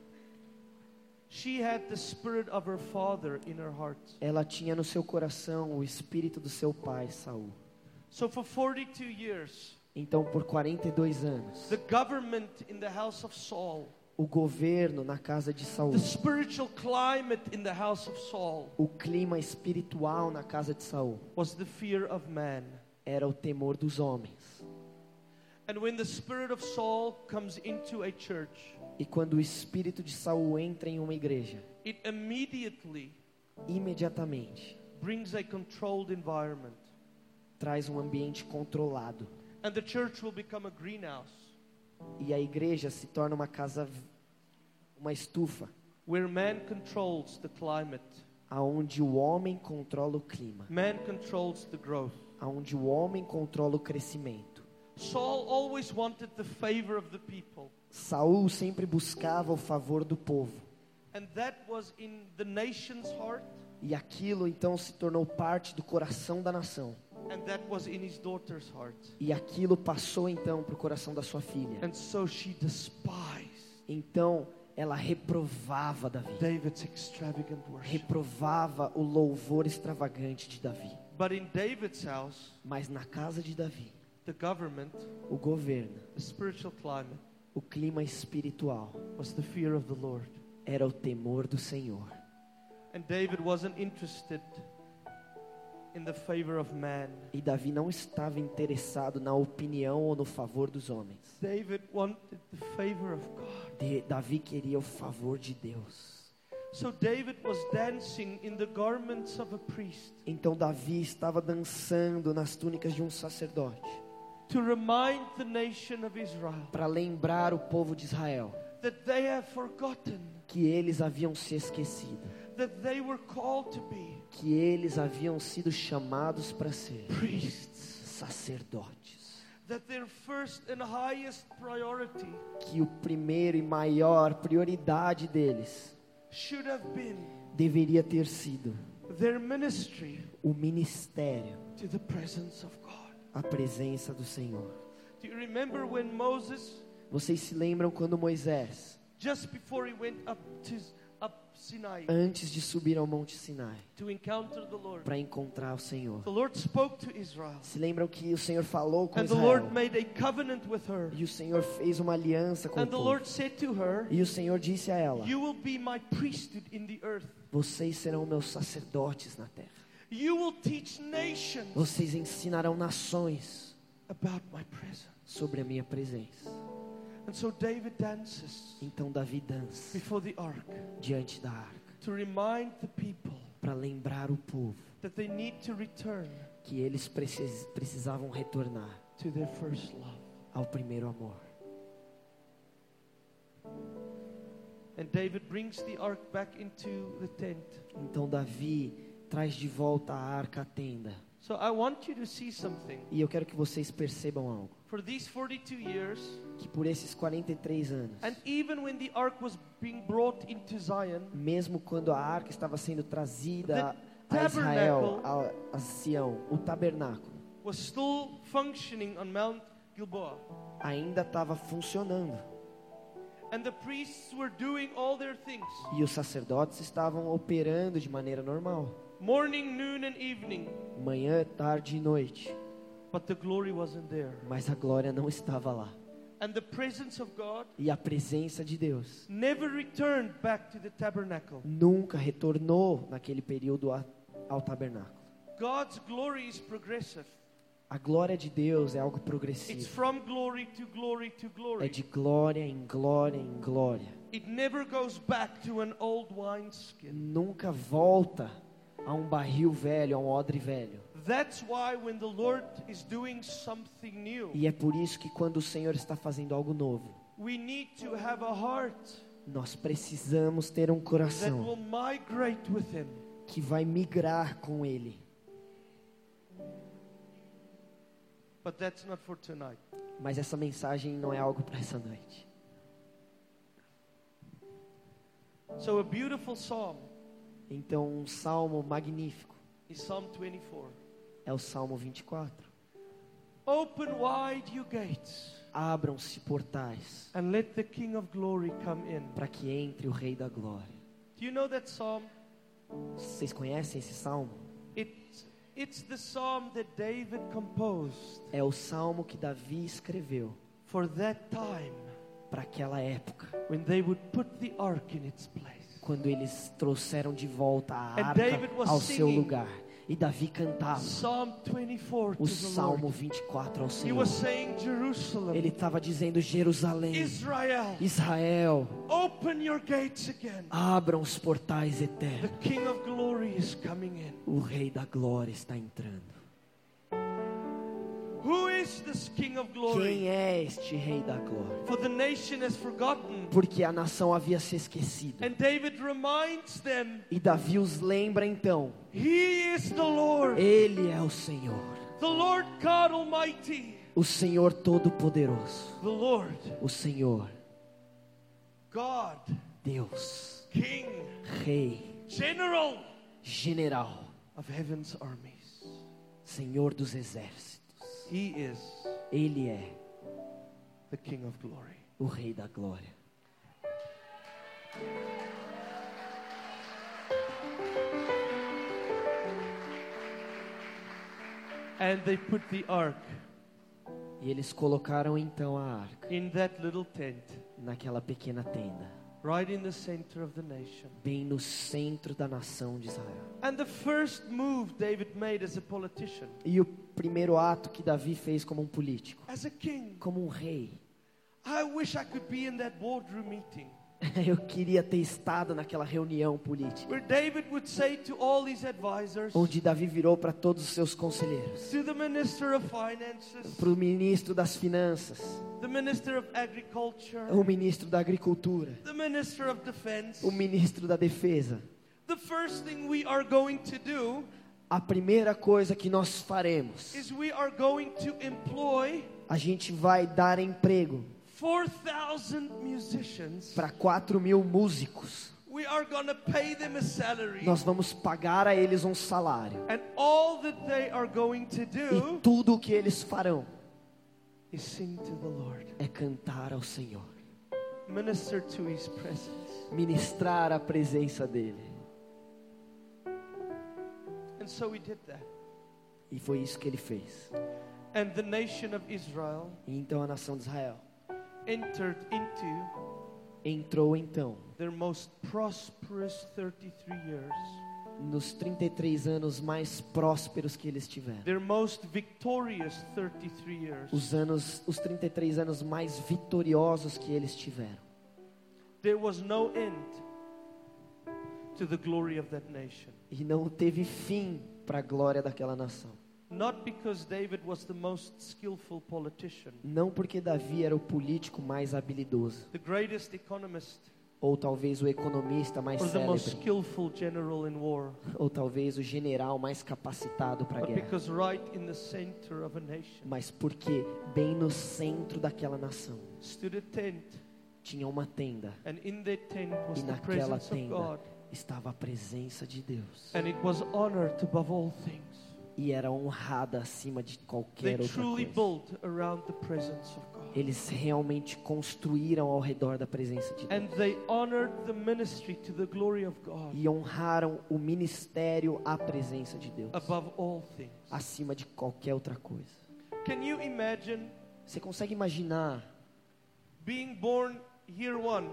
[SPEAKER 1] She had the spirit of her father in her heart.
[SPEAKER 2] Ela tinha no seu coração o espírito do seu pai, Saul.
[SPEAKER 1] So for forty-two years,
[SPEAKER 2] Então, por quarenta e dois anos,
[SPEAKER 1] the government in the house of Saul,
[SPEAKER 2] o governo na casa de Saul,
[SPEAKER 1] the spiritual climate in the house of Saul,
[SPEAKER 2] o clima espiritual na casa de Saul
[SPEAKER 1] was the fear of man.
[SPEAKER 2] era o temor dos homens.
[SPEAKER 1] And when the spirit of Saul comes into a church,
[SPEAKER 2] E quando o espírito de Saul entra em uma igreja,
[SPEAKER 1] it immediately
[SPEAKER 2] imediatamente
[SPEAKER 1] brings a controlled environment.
[SPEAKER 2] traz um ambiente controlado.
[SPEAKER 1] And the church will become a greenhouse
[SPEAKER 2] E a igreja se torna uma casa, uma estufa,
[SPEAKER 1] where man controls the climate,
[SPEAKER 2] aonde o homem controla o clima,
[SPEAKER 1] man controls the growth.
[SPEAKER 2] aonde o homem controla o crescimento.
[SPEAKER 1] Saul always wanted the favor of the people.
[SPEAKER 2] Saul sempre buscava o favor do povo.
[SPEAKER 1] And that was in the nation's heart,
[SPEAKER 2] E aquilo então se tornou parte do coração da nação.
[SPEAKER 1] and that was in his daughter's heart.
[SPEAKER 2] E aquilo passou então para o coração da sua filha.
[SPEAKER 1] And so she despised
[SPEAKER 2] Então ela reprovava Davi.
[SPEAKER 1] David's extravagant worship.
[SPEAKER 2] Reprovava o louvor extravagante de Davi.
[SPEAKER 1] But in David's house,
[SPEAKER 2] Mas na casa de Davi,
[SPEAKER 1] the government,
[SPEAKER 2] o governo,
[SPEAKER 1] the spiritual climate,
[SPEAKER 2] o clima espiritual
[SPEAKER 1] was the fear of the Lord.
[SPEAKER 2] era o temor do Senhor.
[SPEAKER 1] And David wasn't interested in the favor of man.
[SPEAKER 2] E Davi não estava interessado na opinião ou no favor dos homens.
[SPEAKER 1] David wanted the favor of God.
[SPEAKER 2] De, Davi queria o favor de Deus.
[SPEAKER 1] So David was dancing in the garments of a priest.
[SPEAKER 2] Então Davi estava dançando nas túnicas de um sacerdote,
[SPEAKER 1] To remind the nation of Israel
[SPEAKER 2] para lembrar o povo de Israel
[SPEAKER 1] that they have forgotten
[SPEAKER 2] que eles haviam se esquecido,
[SPEAKER 1] that they were called to be
[SPEAKER 2] que eles haviam sido chamados para ser
[SPEAKER 1] priests.
[SPEAKER 2] sacerdotes,
[SPEAKER 1] That their first and highest priority
[SPEAKER 2] que o primeiro e maior prioridade deles
[SPEAKER 1] should have been
[SPEAKER 2] deveria ter sido
[SPEAKER 1] their ministry
[SPEAKER 2] o ministério,
[SPEAKER 1] to the presence of God.
[SPEAKER 2] a presença do Senhor.
[SPEAKER 1] Do you remember when Moses,
[SPEAKER 2] Vocês se lembram quando Moisés,
[SPEAKER 1] just before he went up to up Sinai
[SPEAKER 2] antes de subir ao Monte Sinai
[SPEAKER 1] to encounter the Lord,
[SPEAKER 2] para encontrar o Senhor,
[SPEAKER 1] the Lord spoke to Israel,
[SPEAKER 2] se lembram que o Senhor falou com
[SPEAKER 1] and the
[SPEAKER 2] Israel,
[SPEAKER 1] Lord made a covenant with her,
[SPEAKER 2] e o Senhor fez uma aliança com o
[SPEAKER 1] and the
[SPEAKER 2] povo,
[SPEAKER 1] Lord said to her,
[SPEAKER 2] e o Senhor disse a ela:
[SPEAKER 1] "You will be my priesthood in the earth.
[SPEAKER 2] vocês serão meus sacerdotes na terra,
[SPEAKER 1] You will teach nations
[SPEAKER 2] vocês ensinarão nações
[SPEAKER 1] about my presence."
[SPEAKER 2] sobre a minha presença.
[SPEAKER 1] And so David dances
[SPEAKER 2] Então Davi dança
[SPEAKER 1] before the ark
[SPEAKER 2] diante da arca
[SPEAKER 1] to remind the people
[SPEAKER 2] para lembrar o povo
[SPEAKER 1] that they need to return
[SPEAKER 2] que eles precis, precisavam retornar
[SPEAKER 1] to their first love.
[SPEAKER 2] ao primeiro amor.
[SPEAKER 1] And David brings the ark back into the tent.
[SPEAKER 2] Então Davi traz de volta a arca à tenda.
[SPEAKER 1] So I want you to see something.
[SPEAKER 2] E eu quero que vocês percebam algo,
[SPEAKER 1] For these forty-two years,
[SPEAKER 2] que por esses quarenta e três anos,
[SPEAKER 1] and even when the ark was being brought into Zion,
[SPEAKER 2] mesmo quando a arca estava sendo trazida
[SPEAKER 1] The
[SPEAKER 2] a Israel,
[SPEAKER 1] tabernacle
[SPEAKER 2] a, a Sião, o tabernáculo
[SPEAKER 1] was still functioning on Mount Gilboa.
[SPEAKER 2] ainda estava funcionando.
[SPEAKER 1] And the priests were doing all their things.
[SPEAKER 2] E os sacerdotes estavam operando de maneira normal,
[SPEAKER 1] Morning, noon and evening.
[SPEAKER 2] manhã, tarde e noite.
[SPEAKER 1] But the glory wasn't there.
[SPEAKER 2] Mas a glória não estava lá.
[SPEAKER 1] And the presence of God
[SPEAKER 2] E a presença de Deus
[SPEAKER 1] never returned back to the tabernacle.
[SPEAKER 2] nunca retornou naquele período a- ao tabernáculo.
[SPEAKER 1] God's glory is progressive.
[SPEAKER 2] A glória de Deus é algo
[SPEAKER 1] It's
[SPEAKER 2] progressivo.
[SPEAKER 1] from glory to glory to
[SPEAKER 2] É
[SPEAKER 1] glory.
[SPEAKER 2] de glória em glória em glória.
[SPEAKER 1] It never goes back to an old wineskin.
[SPEAKER 2] Nunca volta a um barril velho, a um odre velho.
[SPEAKER 1] That's why when the Lord is doing something new,
[SPEAKER 2] E é por isso que quando o Senhor está fazendo algo novo,
[SPEAKER 1] we need to have a heart
[SPEAKER 2] nós precisamos ter um
[SPEAKER 1] that
[SPEAKER 2] coração
[SPEAKER 1] will migrate with Him.
[SPEAKER 2] que vai migrar com Ele.
[SPEAKER 1] But that's not for tonight.
[SPEAKER 2] Mas essa mensagem não é algo para essa noite.
[SPEAKER 1] So a beautiful psalm
[SPEAKER 2] Então, um salmo magnífico
[SPEAKER 1] is Psalm twenty-four.
[SPEAKER 2] é o Salmo vinte e quatro.
[SPEAKER 1] Open wide you gates,
[SPEAKER 2] Abram-se portais
[SPEAKER 1] and let the King of glory come in.
[SPEAKER 2] para que entre o Rei da Glória.
[SPEAKER 1] Do you know that psalm?
[SPEAKER 2] Vocês conhecem esse salmo?
[SPEAKER 1] It's, it's the psalm that David composed
[SPEAKER 2] É o salmo que Davi escreveu
[SPEAKER 1] for that time
[SPEAKER 2] para aquela época,
[SPEAKER 1] when they would put the ark in its place.
[SPEAKER 2] quando eles trouxeram de volta a
[SPEAKER 1] And
[SPEAKER 2] arca
[SPEAKER 1] David was
[SPEAKER 2] ao seu
[SPEAKER 1] singing
[SPEAKER 2] lugar. E Davi cantava
[SPEAKER 1] Psalm twenty-four to
[SPEAKER 2] o
[SPEAKER 1] the
[SPEAKER 2] Salmo
[SPEAKER 1] Lord.
[SPEAKER 2] vinte e quatro ao
[SPEAKER 1] He
[SPEAKER 2] Senhor.
[SPEAKER 1] was saying, Jerusalem,
[SPEAKER 2] Ele estava dizendo: Jerusalém,
[SPEAKER 1] Israel,
[SPEAKER 2] Israel,
[SPEAKER 1] open your gates again.
[SPEAKER 2] abram os portais
[SPEAKER 1] The
[SPEAKER 2] eternos.
[SPEAKER 1] King of glory is coming in.
[SPEAKER 2] O Rei da Glória está entrando.
[SPEAKER 1] Who is this King of glory?
[SPEAKER 2] Quem é este Rei da Glória?
[SPEAKER 1] For the nation has forgotten.
[SPEAKER 2] Porque a nação havia se esquecido.
[SPEAKER 1] And David reminds them,
[SPEAKER 2] E Davi os lembra então:
[SPEAKER 1] He is the Lord,
[SPEAKER 2] Ele é o Senhor,
[SPEAKER 1] the Lord God Almighty,
[SPEAKER 2] o Senhor Todo-Poderoso,
[SPEAKER 1] the Lord,
[SPEAKER 2] o Senhor,
[SPEAKER 1] God,
[SPEAKER 2] Deus,
[SPEAKER 1] King,
[SPEAKER 2] Rei,
[SPEAKER 1] General
[SPEAKER 2] General,
[SPEAKER 1] of heaven's armies.
[SPEAKER 2] Senhor dos exércitos.
[SPEAKER 1] He is
[SPEAKER 2] Ele é
[SPEAKER 1] the King of glory.
[SPEAKER 2] o Rei da Glória.
[SPEAKER 1] And they put the ark
[SPEAKER 2] E eles colocaram então a arca
[SPEAKER 1] in that little tent.
[SPEAKER 2] naquela pequena tenda.
[SPEAKER 1] right in the center of the nation.
[SPEAKER 2] bem no centro da nação de Israel.
[SPEAKER 1] And the first move David made as a politician,
[SPEAKER 2] E o primeiro ato que Davi fez como um político,
[SPEAKER 1] as a king,
[SPEAKER 2] como um rei,
[SPEAKER 1] I wish I could be in that boardroom meeting
[SPEAKER 2] eu queria ter estado naquela reunião política,
[SPEAKER 1] where David would say to all his advisors,
[SPEAKER 2] onde Davi virou para todos os seus conselheiros,
[SPEAKER 1] to the minister of finances,
[SPEAKER 2] para o ministro das finanças,
[SPEAKER 1] the minister of agriculture,
[SPEAKER 2] o ministro da agricultura,
[SPEAKER 1] the minister of defense,
[SPEAKER 2] o ministro da defesa.
[SPEAKER 1] the first thing we are going to do
[SPEAKER 2] A primeira coisa que nós faremos,
[SPEAKER 1] is we are going to employ
[SPEAKER 2] a gente vai dar emprego
[SPEAKER 1] four thousand musicians.
[SPEAKER 2] para quatro mil músicos.
[SPEAKER 1] We are going to pay them a salary.
[SPEAKER 2] Nós vamos pagar a eles um salário.
[SPEAKER 1] And all that they are going to
[SPEAKER 2] E
[SPEAKER 1] do
[SPEAKER 2] tudo o que eles farão
[SPEAKER 1] is sing to the Lord.
[SPEAKER 2] é cantar ao Senhor,
[SPEAKER 1] Minister to His presence.
[SPEAKER 2] ministrar a presença dEle.
[SPEAKER 1] And so we did that.
[SPEAKER 2] E foi isso que ele fez.
[SPEAKER 1] And the nation of Israel
[SPEAKER 2] E então a nação de Israel
[SPEAKER 1] entered into
[SPEAKER 2] entrou então
[SPEAKER 1] their most prosperous thirty-three years.
[SPEAKER 2] nos trinta e três anos mais prósperos que eles tiveram.
[SPEAKER 1] Their most victorious thirty-three years.
[SPEAKER 2] Os anos, os trinta e três anos mais vitoriosos que eles tiveram.
[SPEAKER 1] There was no end to the glory of that nation.
[SPEAKER 2] E não teve fim para a glória daquela nação.
[SPEAKER 1] Not because David was the most skillful politician,
[SPEAKER 2] Não porque Davi era o político mais habilidoso,
[SPEAKER 1] the greatest economist,
[SPEAKER 2] ou talvez o economista mais
[SPEAKER 1] or the most
[SPEAKER 2] célebre,
[SPEAKER 1] skillful general in war,
[SPEAKER 2] ou talvez o general mais capacitado para a
[SPEAKER 1] but
[SPEAKER 2] guerra.
[SPEAKER 1] because right in the center of a nation
[SPEAKER 2] Mas porque bem no centro daquela nação
[SPEAKER 1] stood a tent,
[SPEAKER 2] tinha uma tenda,
[SPEAKER 1] and in that tent was
[SPEAKER 2] e
[SPEAKER 1] the
[SPEAKER 2] naquela
[SPEAKER 1] presence of
[SPEAKER 2] tenda
[SPEAKER 1] God,
[SPEAKER 2] estava a presença de Deus.
[SPEAKER 1] and it was honored above all things.
[SPEAKER 2] E era honrada acima de qualquer
[SPEAKER 1] They
[SPEAKER 2] outra
[SPEAKER 1] truly
[SPEAKER 2] coisa.
[SPEAKER 1] built around the presence of God.
[SPEAKER 2] Eles realmente construíram ao redor da presença de Deus.
[SPEAKER 1] And they honored the ministry to the glory of God
[SPEAKER 2] E honraram o ministério à presença de Deus,
[SPEAKER 1] above all things.
[SPEAKER 2] acima de qualquer outra coisa.
[SPEAKER 1] Can you imagine
[SPEAKER 2] Você consegue imaginar
[SPEAKER 1] being born year one,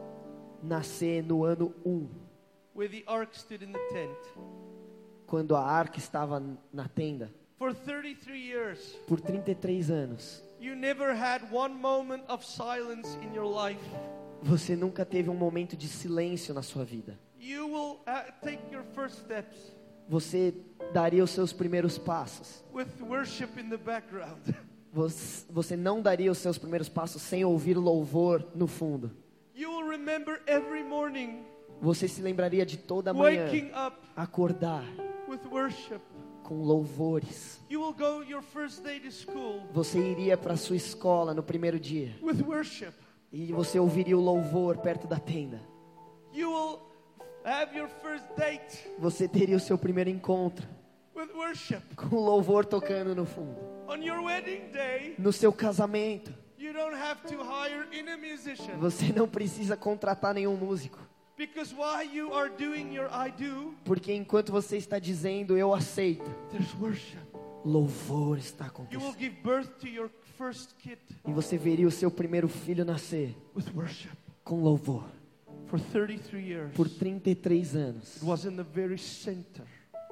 [SPEAKER 2] nascer no ano um,
[SPEAKER 1] where the ark stood in the tent?
[SPEAKER 2] quando a arca estava na tenda,
[SPEAKER 1] For thirty-three years,
[SPEAKER 2] por trinta e três anos?
[SPEAKER 1] you never had one moment of silence in your life.
[SPEAKER 2] Você nunca teve um momento de silêncio na sua vida.
[SPEAKER 1] You will uh, take your first steps
[SPEAKER 2] Você daria os seus primeiros passos.
[SPEAKER 1] with worship in the background.
[SPEAKER 2] Você, você não daria os seus primeiros passos sem ouvir louvor no fundo.
[SPEAKER 1] You will remember every morning
[SPEAKER 2] Você se lembraria de toda manhã
[SPEAKER 1] waking up
[SPEAKER 2] acordar
[SPEAKER 1] with worship.
[SPEAKER 2] com louvores.
[SPEAKER 1] You will go your first day to school
[SPEAKER 2] Você iria para a sua escola no primeiro dia
[SPEAKER 1] with worship.
[SPEAKER 2] e você ouviria o louvor perto da tenda.
[SPEAKER 1] You will have your first date
[SPEAKER 2] Você teria o seu primeiro encontro
[SPEAKER 1] with worship.
[SPEAKER 2] com o louvor tocando no fundo.
[SPEAKER 1] On your wedding day,
[SPEAKER 2] No seu casamento,
[SPEAKER 1] you don't have to hire in a musician,
[SPEAKER 2] você não precisa contratar nenhum músico,
[SPEAKER 1] because while you are doing your I do,
[SPEAKER 2] porque enquanto você está dizendo eu aceito,
[SPEAKER 1] there's worship.
[SPEAKER 2] louvor está
[SPEAKER 1] You will
[SPEAKER 2] acontecendo.
[SPEAKER 1] give birth to your first kid
[SPEAKER 2] E você veria o seu primeiro filho nascer
[SPEAKER 1] with worship.
[SPEAKER 2] com louvor.
[SPEAKER 1] For thirty-three years,
[SPEAKER 2] Por trinta e três anos,
[SPEAKER 1] it was in the very center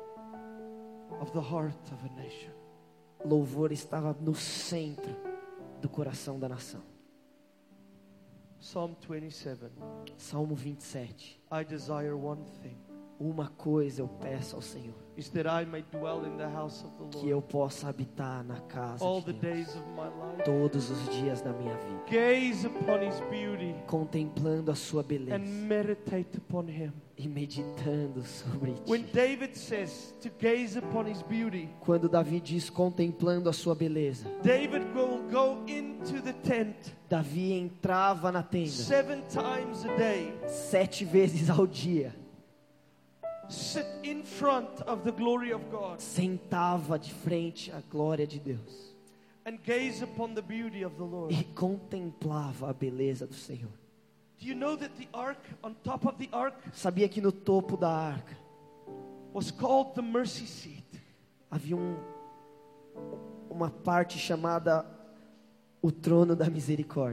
[SPEAKER 1] of the heart of a nation.
[SPEAKER 2] louvor estava no centro do coração da nação.
[SPEAKER 1] Psalm twenty-seven.
[SPEAKER 2] Salmo vinte e sete.
[SPEAKER 1] I desire one thing,
[SPEAKER 2] Uma coisa eu peço ao Senhor,
[SPEAKER 1] is that I may dwell in the house of the
[SPEAKER 2] que
[SPEAKER 1] Lord
[SPEAKER 2] eu possa habitar na casa
[SPEAKER 1] all
[SPEAKER 2] de
[SPEAKER 1] the
[SPEAKER 2] Deus
[SPEAKER 1] days of my life.
[SPEAKER 2] todos os dias da minha vida,
[SPEAKER 1] Gaze upon His beauty
[SPEAKER 2] contemplando a sua beleza
[SPEAKER 1] and meditate upon Him.
[SPEAKER 2] e meditando sobre
[SPEAKER 1] When
[SPEAKER 2] ti.
[SPEAKER 1] David says to gaze upon His beauty,
[SPEAKER 2] Quando Davi diz contemplando a sua beleza,
[SPEAKER 1] David will go into the tent
[SPEAKER 2] Davi entrava na tenda
[SPEAKER 1] seven times a day,
[SPEAKER 2] sete vezes ao dia,
[SPEAKER 1] sit in front of the glory of God,
[SPEAKER 2] sentava de frente à glória de Deus
[SPEAKER 1] and gaze upon the beauty of the Lord.
[SPEAKER 2] e contemplava a beleza do Senhor.
[SPEAKER 1] Do you know that the ark, on top of the ark,
[SPEAKER 2] Sabia que no topo da arca
[SPEAKER 1] was called the mercy seat?
[SPEAKER 2] havia um, uma parte chamada o trono da misericórdia.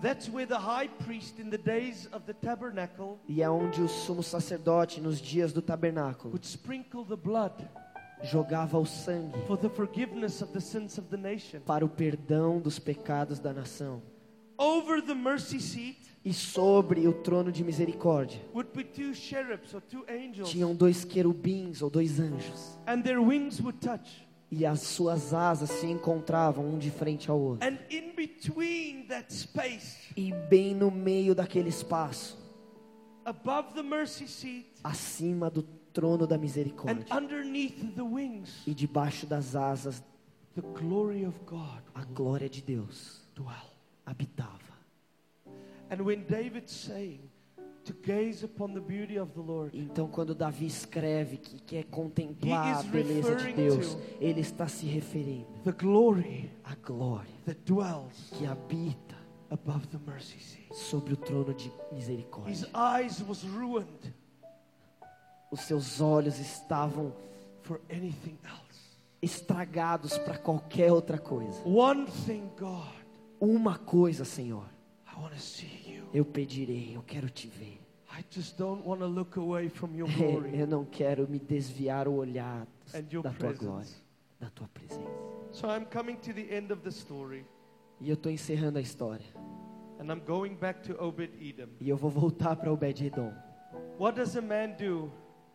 [SPEAKER 1] That's where the high priest in the days of the tabernacle
[SPEAKER 2] E é onde o sumo sacerdote, nos dias do tabernáculo,
[SPEAKER 1] would sprinkle the blood
[SPEAKER 2] jogava o sangue
[SPEAKER 1] for the forgiveness of the sins of the nation.
[SPEAKER 2] para o perdão dos pecados da nação.
[SPEAKER 1] Over the mercy seat
[SPEAKER 2] E sobre o trono de misericórdia
[SPEAKER 1] would be two cherubs or two angels,
[SPEAKER 2] tinham dois querubins ou dois anjos.
[SPEAKER 1] and their wings would touch.
[SPEAKER 2] E as suas asas se encontravam um de frente ao outro.
[SPEAKER 1] And in between that space,
[SPEAKER 2] E bem no meio daquele espaço,
[SPEAKER 1] above the mercy seat
[SPEAKER 2] acima do trono da
[SPEAKER 1] and
[SPEAKER 2] misericórdia
[SPEAKER 1] underneath the wings,
[SPEAKER 2] e debaixo das asas,
[SPEAKER 1] the glory of God
[SPEAKER 2] a glória de Deus
[SPEAKER 1] dwell.
[SPEAKER 2] habitava.
[SPEAKER 1] And when David's saying to gaze upon the beauty of the Lord,
[SPEAKER 2] Então, quando Davi escreve que quer contemplar
[SPEAKER 1] He
[SPEAKER 2] a
[SPEAKER 1] is
[SPEAKER 2] beleza de
[SPEAKER 1] referring
[SPEAKER 2] Deus,
[SPEAKER 1] to
[SPEAKER 2] ele está se referindo
[SPEAKER 1] the glory
[SPEAKER 2] à glória
[SPEAKER 1] that dwells
[SPEAKER 2] que habita
[SPEAKER 1] above the mercy seat.
[SPEAKER 2] sobre o trono de
[SPEAKER 1] His
[SPEAKER 2] misericórdia.
[SPEAKER 1] eyes was ruined
[SPEAKER 2] Os seus olhos estavam
[SPEAKER 1] for anything else.
[SPEAKER 2] estragados para qualquer outra coisa.
[SPEAKER 1] One thing, God,
[SPEAKER 2] Uma coisa, Senhor,
[SPEAKER 1] I want to see you.
[SPEAKER 2] eu pedirei, eu quero te ver.
[SPEAKER 1] I just don't want to look away from your glory
[SPEAKER 2] Eu não quero me desviar o olhar
[SPEAKER 1] and your
[SPEAKER 2] da tua glória,
[SPEAKER 1] presence.
[SPEAKER 2] da tua presença.
[SPEAKER 1] So I'm coming to the end of the story,
[SPEAKER 2] E eu estou encerrando a história.
[SPEAKER 1] and I'm going back to Obed-Edom.
[SPEAKER 2] E eu vou voltar para Obed-Edom.
[SPEAKER 1] What does a man do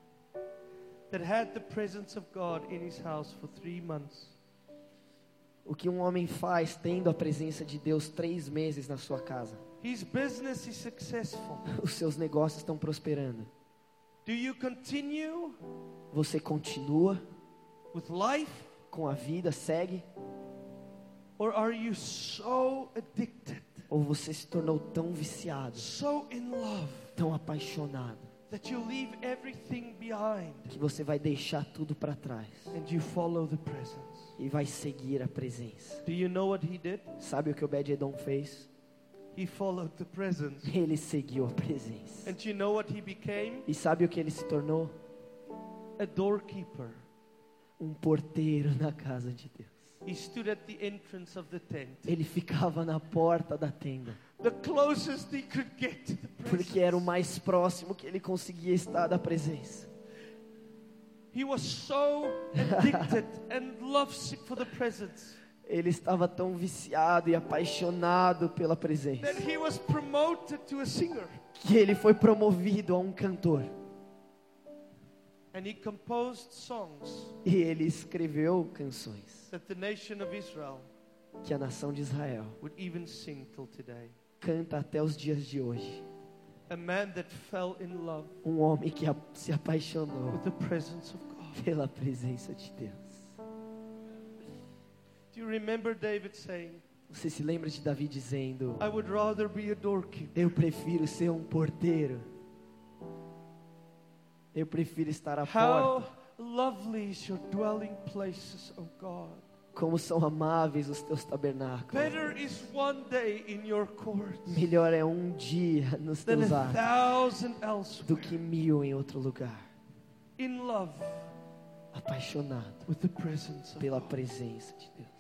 [SPEAKER 1] that had the presence of God in his house for three months?
[SPEAKER 2] O que um homem faz tendo a presença de Deus três meses na sua casa?
[SPEAKER 1] His business is successful.
[SPEAKER 2] Os seus negócios estão prosperando.
[SPEAKER 1] Do you continue
[SPEAKER 2] Você continua
[SPEAKER 1] with life,
[SPEAKER 2] com a vida, segue?
[SPEAKER 1] or are you so addicted,
[SPEAKER 2] Ou você se tornou tão viciado,
[SPEAKER 1] so in love,
[SPEAKER 2] tão apaixonado,
[SPEAKER 1] that you leave everything behind
[SPEAKER 2] que você vai deixar tudo para trás
[SPEAKER 1] and you follow the presence?
[SPEAKER 2] e vai seguir a presença?
[SPEAKER 1] Do you know what he did?
[SPEAKER 2] Sabe o que Obed-Edom fez?
[SPEAKER 1] He followed the presence.
[SPEAKER 2] Ele seguiu a presença.
[SPEAKER 1] And you know what he became?
[SPEAKER 2] E sabe o que ele se tornou?
[SPEAKER 1] A doorkeeper.
[SPEAKER 2] Um porteiro na casa de Deus.
[SPEAKER 1] He stood at the entrance of the tent,
[SPEAKER 2] Ele ficava na porta da tenda,
[SPEAKER 1] the closest he could get to the
[SPEAKER 2] porque era o
[SPEAKER 1] presence.
[SPEAKER 2] mais próximo que ele conseguia estar da presença.
[SPEAKER 1] He was so addicted and lovesick for the presence
[SPEAKER 2] Ele estava tão viciado e apaixonado pela presença,
[SPEAKER 1] that he was promoted to a singer.
[SPEAKER 2] que ele foi promovido a um cantor.
[SPEAKER 1] And he composed songs
[SPEAKER 2] E ele escreveu canções
[SPEAKER 1] that the nation of Israel
[SPEAKER 2] que a nação de Israel
[SPEAKER 1] would even sing till today.
[SPEAKER 2] canta até os dias de hoje.
[SPEAKER 1] A man that fell in love
[SPEAKER 2] Um homem que a- se apaixonou
[SPEAKER 1] with the presence of God.
[SPEAKER 2] pela presença de Deus.
[SPEAKER 1] Do you remember David saying,
[SPEAKER 2] Você se lembra de Davi dizendo:
[SPEAKER 1] I would rather be a doorkeeper
[SPEAKER 2] eu prefiro ser um porteiro. Eu prefiro estar à
[SPEAKER 1] How
[SPEAKER 2] porta.
[SPEAKER 1] lovely is your dwelling places, O God.
[SPEAKER 2] Como são amáveis os teus tabernáculos.
[SPEAKER 1] Better is one day in your courts
[SPEAKER 2] Melhor é um dia nos
[SPEAKER 1] than
[SPEAKER 2] teus
[SPEAKER 1] a
[SPEAKER 2] atos
[SPEAKER 1] thousand
[SPEAKER 2] do
[SPEAKER 1] elsewhere.
[SPEAKER 2] que mil em outro lugar.
[SPEAKER 1] In love
[SPEAKER 2] Apaixonado
[SPEAKER 1] with the presence of
[SPEAKER 2] pela
[SPEAKER 1] God.
[SPEAKER 2] presença de Deus.